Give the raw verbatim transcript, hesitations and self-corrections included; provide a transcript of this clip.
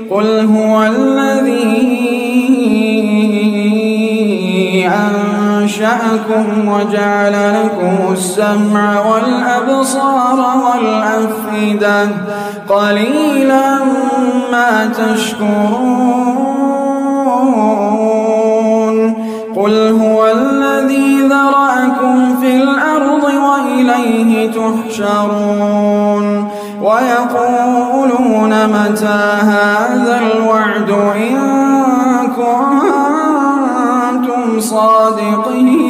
قل هو الذي أنشأكم وجعل لكم السمع والأبصار والأفئدة قليلا ما تشكرون قل هو الذي ذرأكم في الأرض وإليه تحشرون ويقولون متى هذا الوعد إن كنتم صادقين